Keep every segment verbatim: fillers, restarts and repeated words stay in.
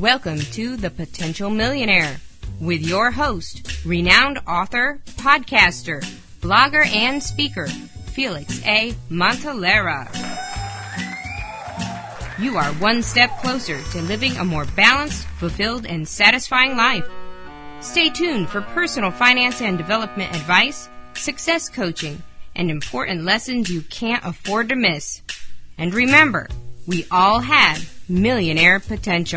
Welcome to The Potential Millionaire with your host, renowned author, podcaster, blogger, and speaker, Felix A. Montalera. You are one step closer to living a more balanced, fulfilled, and satisfying life. Stay tuned for personal finance and development advice, success coaching, and important lessons you can't afford to miss. And remember, we all have millionaire potential.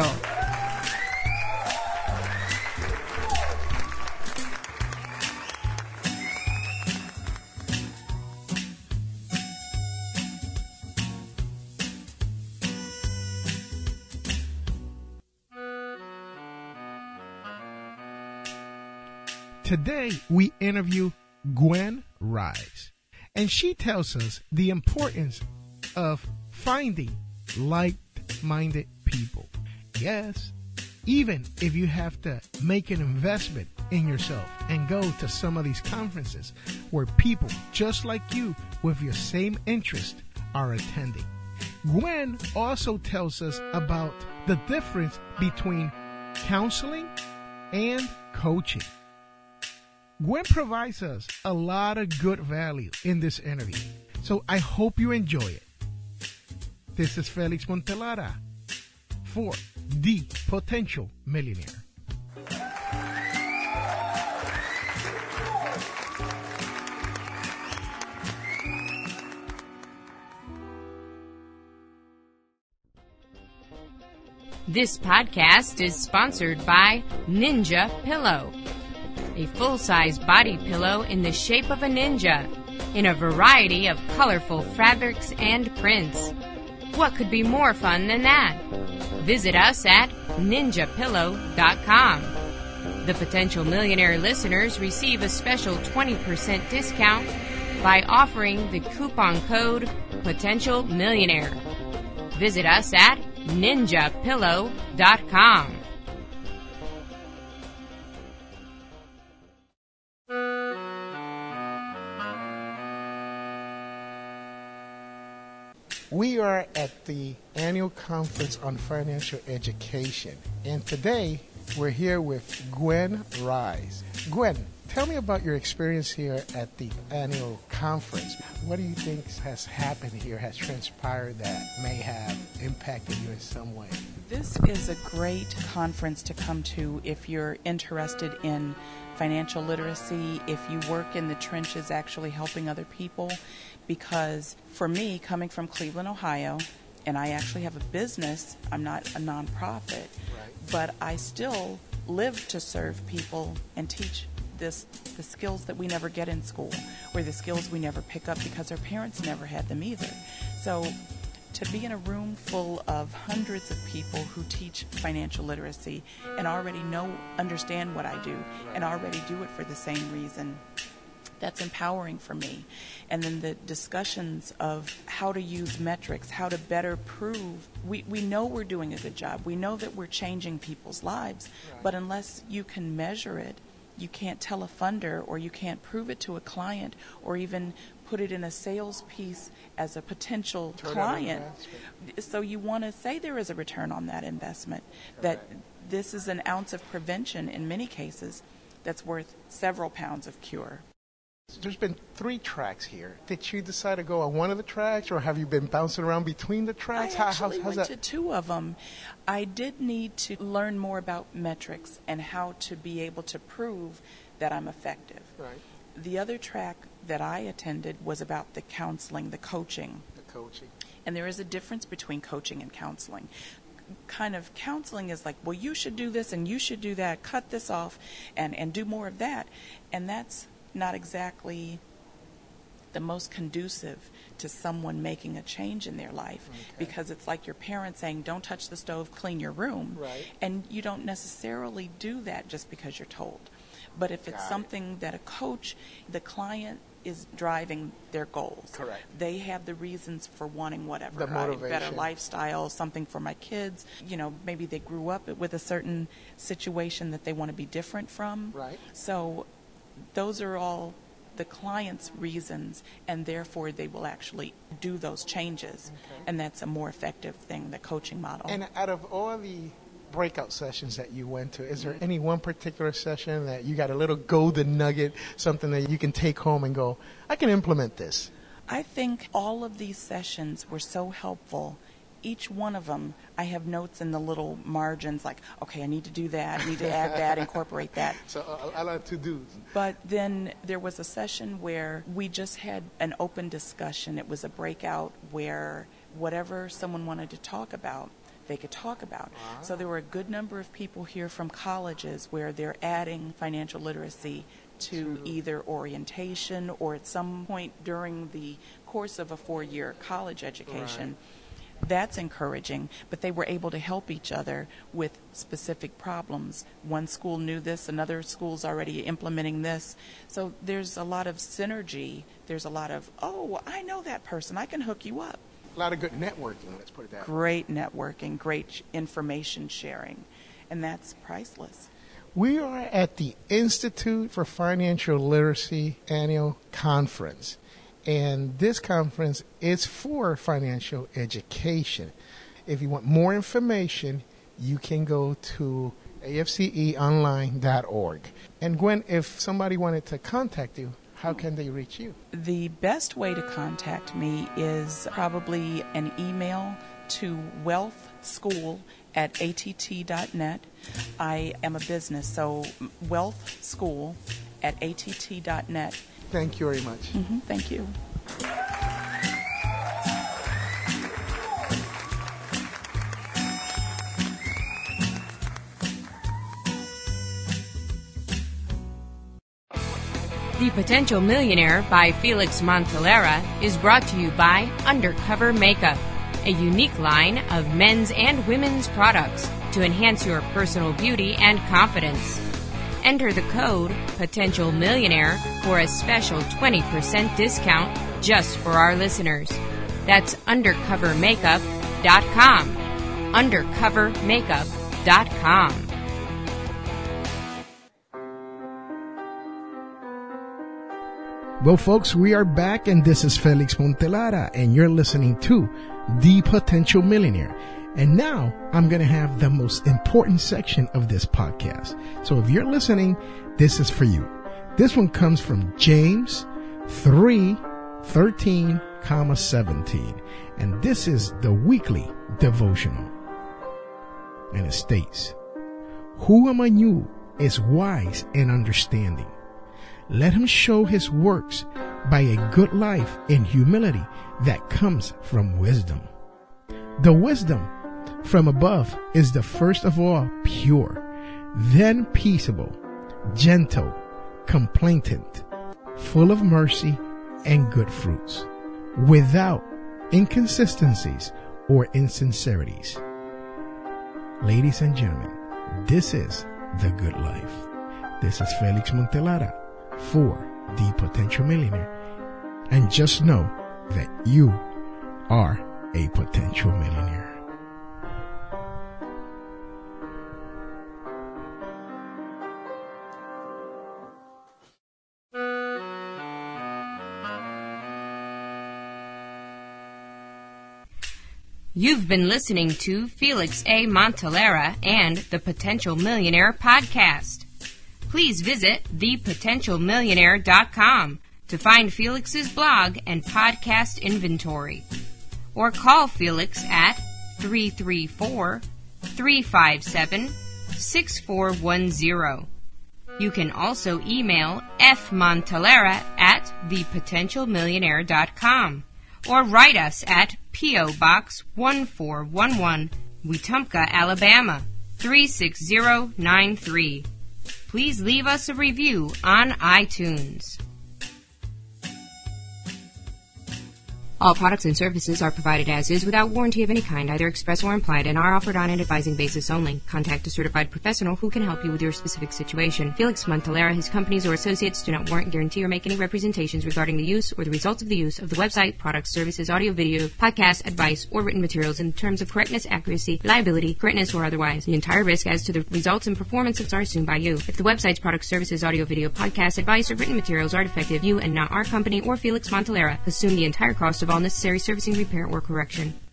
Today, we interview Gwen Rice, and she tells us the importance of finding like-minded people. Yes, even if you have to make an investment in yourself and go to some of these conferences where people just like you with your same interest are attending. Gwen also tells us about the difference between counseling and coaching. Gwen provides us a lot of good value in this interview, so I hope you enjoy it. This is Felix Montalera for The Potential Millionaire. This podcast is sponsored by Ninja Pillow, a full-size body pillow in the shape of a ninja, in a variety of colorful fabrics and prints. What could be more fun than that? Visit us at ninja pillow dot com. The Potential Millionaire listeners receive a special twenty percent discount by offering the coupon code Potential Millionaire. Visit us at ninja pillow dot com. We are at the annual conference on financial education, and today we're here with Gwen Rice. Gwen, tell me about your experience here at the annual conference. What do you think has happened here, has transpired that may have impacted you in some way? This is a great conference to come to if you're interested in financial literacy, if you work in the trenches actually helping other people. Because for me, coming from Cleveland, Ohio, and I actually have a business, I'm not a nonprofit, right, but I still live to serve people and teach this the skills that we never get in school, or the skills we never pick up because our parents never had them either. So to be in a room full of hundreds of people who teach financial literacy and already know, understand what I do, right, and already do it for the same reason, that's empowering for me. And then the discussions of how to use metrics, how to better prove. We, we know we're doing a good job. We know that we're changing people's lives. Right. But unless you can measure it, you can't tell a funder, or you can't prove it to a client, or even put it in a sales piece as a potential Turn client. So you want to say there is a return on that investment, that right, this is an ounce of prevention in many cases that's worth several pounds of cure. There's been three tracks here. Did you decide to go on one of the tracks, or have you been bouncing around between the tracks? I actually how, how's went that? to two of them. I did need to learn more about metrics and how to be able to prove that I'm effective. Right. The other track that I attended was about the counseling, the coaching. The coaching. And there is a difference between coaching and counseling. Kind of counseling is like, well, you should do this and you should do that, cut this off and, and do more of that. And that's not exactly the most conducive to someone making a change in their life, okay, because it's like your parents saying, don't touch the stove, clean your room. Right. And you don't necessarily do that just because you're told. But if it's Got something it. that a coach, the client is driving their goals. Correct. They have the reasons for wanting whatever. The motivation. Better lifestyle, something for my kids. You know, maybe they grew up with a certain situation that they want to be different from. Right. So those are all the client's reasons, and therefore they will actually do those changes. Okay. And that's a more effective thing, the coaching model. And out of all the breakout sessions that you went to, is there any one particular session that you got a little golden nugget, something that you can take home and go, I can implement this? I think all of these sessions were so helpful. Each one of them, I have notes in the little margins like, okay, I need to do that, I need to add that, incorporate that. So uh, I like to do. But then there was a session where we just had an open discussion. It was a breakout where whatever someone wanted to talk about, they could talk about. Wow. So there were a good number of people here from colleges where they're adding financial literacy to True. Either orientation or at some point during the course of a four-year college education. Right. That's encouraging, but they were able to help each other with specific problems. One school knew this, another school's already implementing this. So there's a lot of synergy. There's a lot of, oh, I know that person, I can hook you up. A lot of good networking, let's put it that way. Great networking, great information sharing, and that's priceless. We are at the Institute for Financial Literacy Annual Conference. And this conference is for financial education. If you want more information, you can go to A F C E online dot org. And Gwen, if somebody wanted to contact you, how can they reach you? The best way to contact me is probably an email to wealth school at A T T dot net. I am a business, so wealth school at A T T dot net. Thank you very much. Mm-hmm, thank you. The Potential Millionaire by Felix Montalera is brought to you by Undercover Makeup, a unique line of men's and women's products to enhance your personal beauty and confidence. Enter the code Potential Millionaire for a special twenty percent discount just for our listeners. That's undercover makeup dot com. undercover makeup dot com. Well, folks, we are back, and this is Felix Montalera, and you're listening to The Potential Millionaire. And now I'm going to have the most important section of this podcast. So if you're listening, this is for you. This one comes from James three thirteen, seventeen. And this is the weekly devotional. And it states, who among you is wise and understanding? Let him show his works by a good life and humility that comes from wisdom. The wisdom from above is the first of all pure, then peaceable, gentle, complainant, full of mercy and good fruits, without inconsistencies or insincerities. Ladies and gentlemen, this is the good life. This is Felix Montalera for The Potential Millionaire. And just know that you are a potential millionaire. You've been listening to Felix A. Montalera and the Potential Millionaire podcast. Please visit the potential millionaire dot com to find Felix's blog and podcast inventory. Or call Felix at three three four, three five seven, six four one zero. You can also email fmontalera at the potential millionaire dot com or write us at P O. Box one four one one, Wetumpka, Alabama, three six zero nine three. Please leave us a review on iTunes. All products and services are provided as is without warranty of any kind, either express or implied, and are offered on an advising basis only. Contact a certified professional who can help you with your specific situation. Felix Montalera, his companies, or associates do not warrant, guarantee, or make any representations regarding the use or the results of the use of the website, products, services, audio, video, podcast, advice, or written materials in terms of correctness, accuracy, reliability, correctness, or otherwise. The entire risk as to the results and performances are assumed by you. If the website's products, services, audio, video, podcast, advice, or written materials are defective, you and not our company or Felix Montalera assume the entire cost of all necessary servicing, repair, or correction.